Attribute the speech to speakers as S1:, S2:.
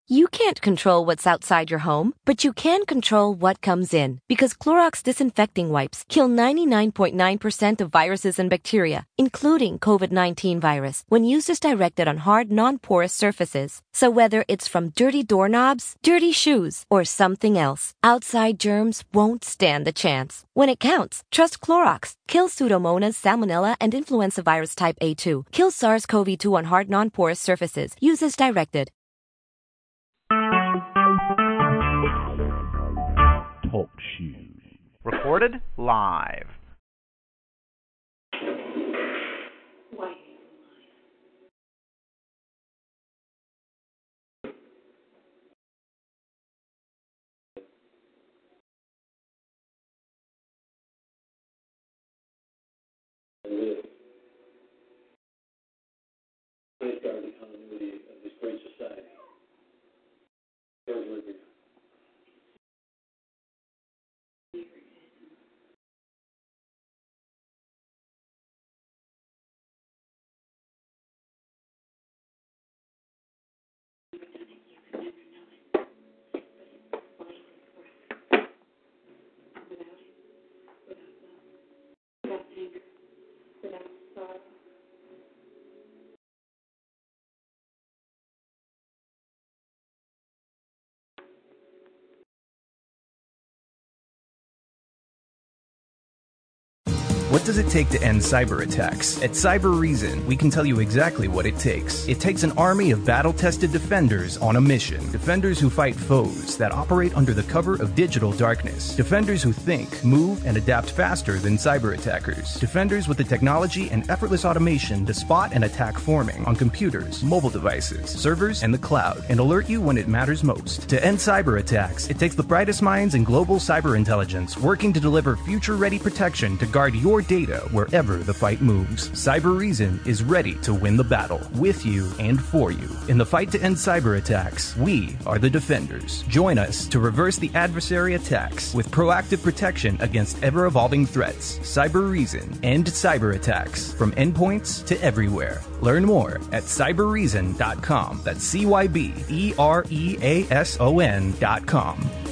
S1: You can't control what's outside your home, but you can control what comes in. Because Clorox disinfecting wipes kill 99.9% of viruses and bacteria, including COVID-19 virus, when used as directed on hard, non-porous surfaces. So whether it's from dirty doorknobs, dirty shoes, or something else, outside germs won't stand a chance. When it counts, trust Clorox. Kill Pseudomonas, Salmonella, and influenza virus type A2. Kill SARS-CoV-2 on hard, non-porous surfaces. Use as directed.
S2: Talk shoes. Recorded live.
S3: Safeguard the continuity of this great society.
S4: What does it take to end cyber attacks? At Cyber Reason, we can tell you exactly what it takes. It takes an army of battle-tested defenders on a mission. Defenders who fight foes that operate under the cover of digital darkness. Defenders who think, move, and adapt faster than cyber attackers. Defenders with the technology and effortless automation to spot and attack forming on computers, mobile devices, servers, and the cloud, and alert you when it matters most. To end cyber attacks, it takes the brightest minds in global cyber intelligence working to deliver future-ready protection to guard your data wherever the fight moves. Cyber Reason is ready to win the battle with you and for you. In the fight to end cyber attacks, we are the defenders. Join us to reverse the adversary attacks with proactive protection against ever-evolving threats. Cyber Reason. End cyber attacks from endpoints to everywhere. Learn more at cyberreason.com. That's CYBEREASON.com.